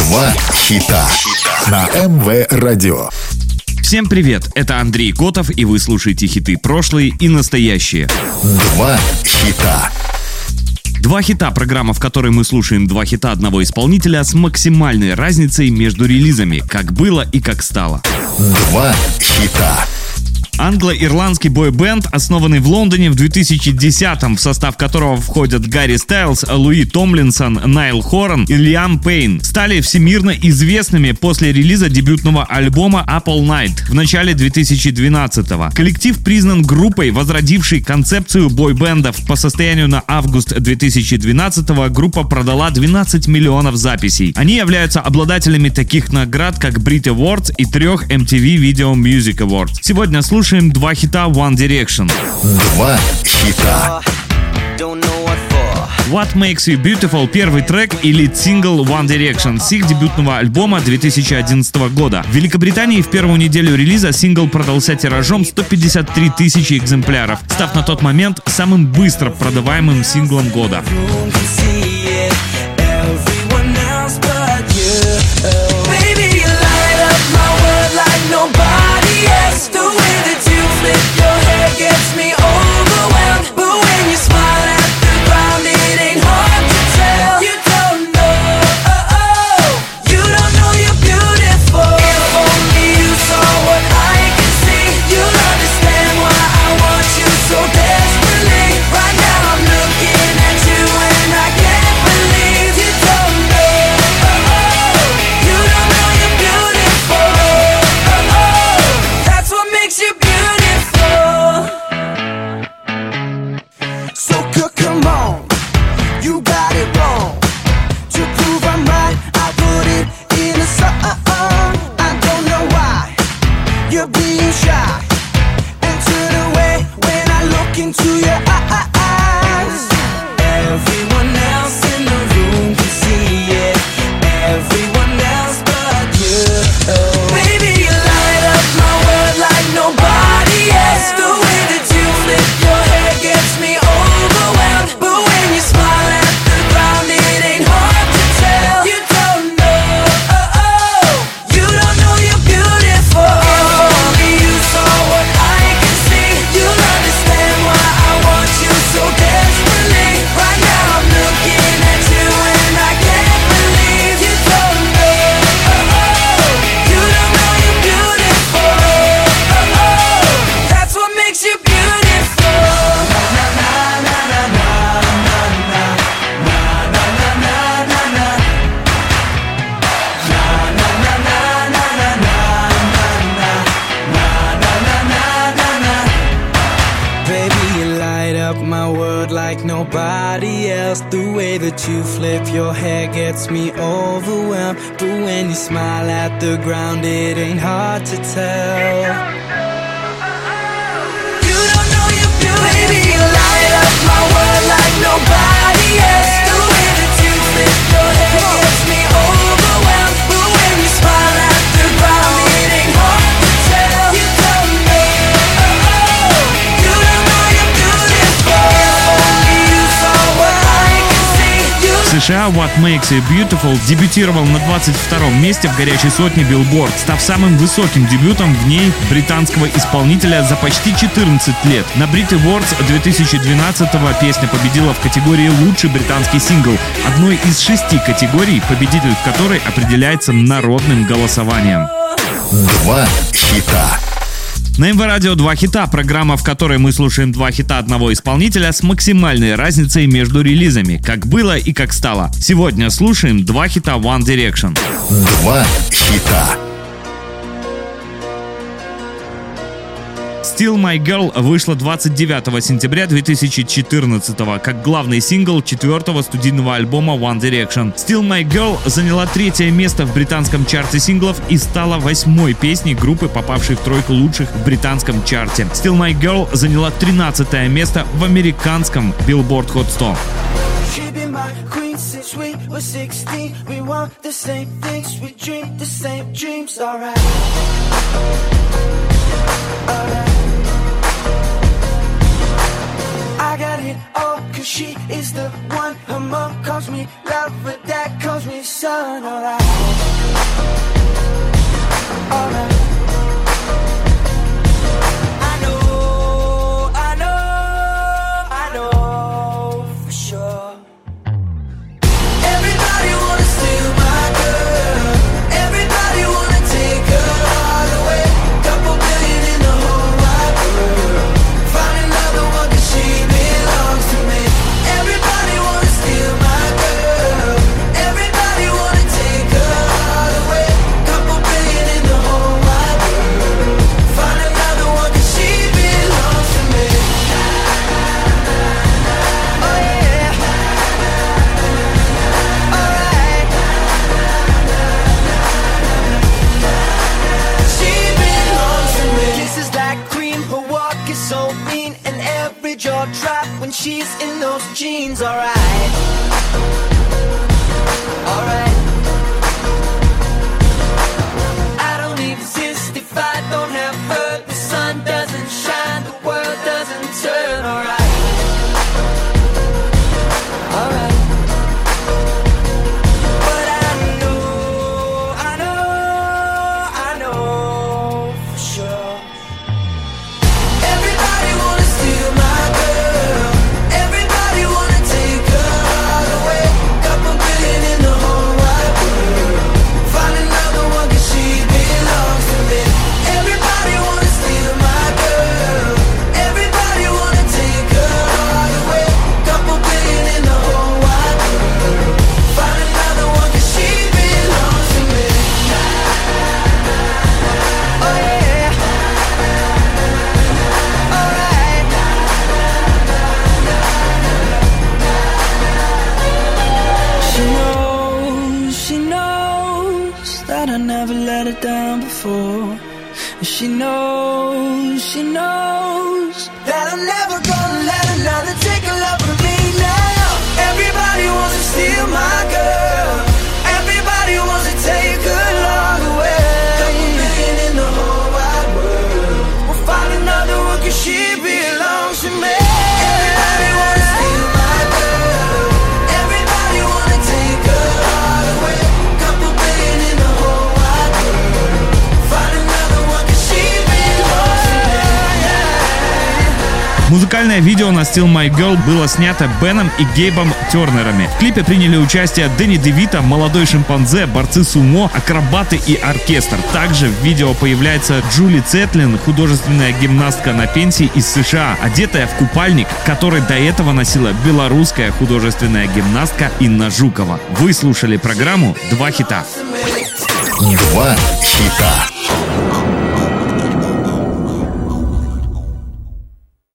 Два хита на МВ Радио. Всем привет, это Андрей Котов, и вы слушаете хиты прошлые и настоящие. Два хита. Два хита — программа, в которой мы слушаем два хита одного исполнителя с максимальной разницей между релизами, как было и как стало. Два хита. Англо-ирландский бой-бенд, основанный в Лондоне в 2010-м, в состав которого входят Гарри Стайлз, Луи Томлинсон, Найл Хоран и Лиам Пейн, стали всемирно известными после релиза дебютного альбома Apple Night в начале 2012-го. Коллектив признан группой, возродившей концепцию бой-бендов. По состоянию на август 2012-го группа продала 12 миллионов записей. Они являются обладателями таких наград, как Brit Awards и 3 MTV Video Music Awards. Сегодня слушаем два хита One Direction. Два хита. What Makes You Beautiful — первый трек и лид-сингл One Direction с их дебютного альбома 2011 года. В Великобритании в первую неделю релиза сингл продался тиражом 153 тысячи экземпляров, став на тот момент самым быстро продаваемым синглом года. You're being shy and turn away when I look into your eyes. Everyone else in the room can see it, everyone else but you. Baby, you light up my world like nobody else. The way that you flip your hair gets me overwhelmed, but when you smile at the ground it ain't hard to tell. You don't know, you don't know you're beautiful. My world like nobody else. The way that you flip your hair gets me overwhelmed, but when you smile at the ground it ain't hard to tell. You don't know you're beautiful. Baby, you light up my world like nobody else. The way that you flip your hair gets me overwhelmed, but when you smile at the ground it ain't hard to tell. You don't know, you don't know you're beautiful. В США What Makes You Beautiful дебютировал на 22-м месте в горячей сотне Billboard, став самым высоким дебютом в ней британского исполнителя за почти 14 лет. На Brit Awards 2012-го песня победила в категории «Лучший британский сингл», одной из 6 категорий, победитель в которой определяется народным голосованием. Два хита. На МВ Радио «Два хита» — программа, в которой мы слушаем два хита одного исполнителя с максимальной разницей между релизами, как было и как стало. Сегодня слушаем два хита One Direction. Два хита. Still My Girl вышла 29 сентября 2014 как главный сингл 4-го студийного альбома One Direction. Still My Girl заняла 3-е место в британском чарте синглов и стала 8-й песней группы, попавшей в тройку лучших в британском чарте. Still My Girl заняла 13-е место в американском Billboard Hot 100. Since we were 16, we want the same things, we dream the same dreams, alright. I got it all, cause she is the one. Her mom calls me lover, dad calls me son. Alright, alright. I know for sure. Everybody wanna steal my girl. Everybody wanna take her all away. Couple billion in the whole wide world. Find another one 'cause she belongs to me. Everybody wanna steal my girl. Everybody wanna take her all away. Couple billion in the whole wide world. Find another one 'cause she belongs to me. Oh yeah. Alright. She belongs to me. Kisses like cream, her walk is so mean, and every jaw drop when she's in those jeans. Alright, alright. I don't exist if I don't have her. The sun doesn't shine, the world doesn't turn. Alright, alright. But I know for sure. Everybody wanna steal my girl. Everybody wanna take her all away. Couple billion in the whole wide world. Find another one 'cause she belongs to me. Everybody wanna steal my girl. Everybody wanna take her all away. Couple billion in the whole wide world. Find another one 'cause she belongs to me. Oh yeah. Alright. She knows that I never let her down before. She knows that I'm never gonna let another take a love from me now. Everybody wants to steal my girl. Everybody wants to take her love away. Couple billion in the whole wide world. We'll find another one 'cause she belongs to me. Everybody wants to steal my girl. Everybody wanna take her all away. Couple billion in the whole wide world. Find another one 'cause she belongs to me. Музыкальное видео на Still My Girl было снято Беном и Гейбом Тернерами. В клипе приняли участие Дэнни Девито, молодой шимпанзе, борцы сумо, акробаты и оркестр. Также в видео появляется Джули Цетлин, художественная гимнастка на пенсии из США, одетая в купальник, который до этого носила белорусская художественная гимнастка Инна Жукова. Вы слушали программу «Два хита». Два хита.